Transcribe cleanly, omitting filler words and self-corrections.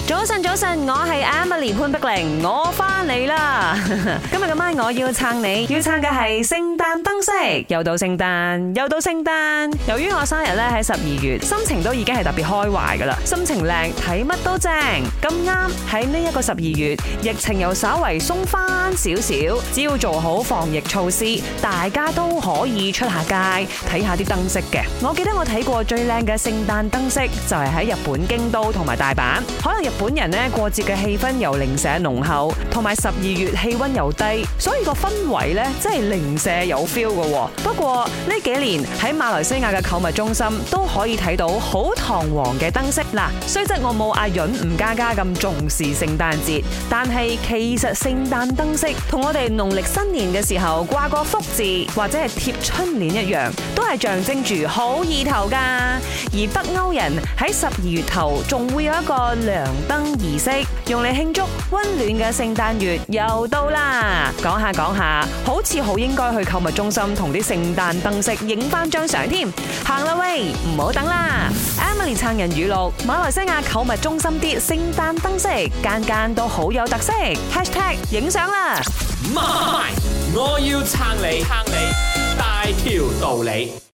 早晨，早晨，我係 Emily 潘碧玲，我翻嚟啦。今日咁晚我要撐你，要撐嘅係聖誕燈飾。又到聖誕，又到聖誕。由於我生日咧喺12月，心情都已經係特別開懷噶啦，心情靚，睇乜都正。咁啱喺呢一個12月，疫情又稍為鬆翻少少，只要做好防疫措施，大家都可以出下街睇下啲燈飾嘅。我記得我睇過最靚嘅聖誕燈飾就係喺日本京都同埋大阪。可能日本人呢過節嘅氣氛又零舍濃厚，同埋12月氣溫又低，所以個氛圍呢真係零舍有 feel 嘅。不過呢幾年喺馬來西亞嘅購物中心都可以睇到好堂皇嘅燈飾。嗱，雖則我冇阿潤吳家家咁重視聖誕節，但係其實聖誕燈飾同我哋農曆新年嘅時候掛個福字或者係貼春聯一樣，都係象徵住好意頭噶。而北歐人喺12月頭仲會有一個亮燈儀式，用嚟慶祝溫暖嘅聖誕月又到啦。講下講下，好似好應該去購物中心同啲聖誕燈飾影翻張相添。行啦喂，唔好等啦 ！Emily 撐人語錄：馬來西亞購物中心啲聖誕燈飾間間都好有特色。#影相啦！ 我要撐你，大條道理。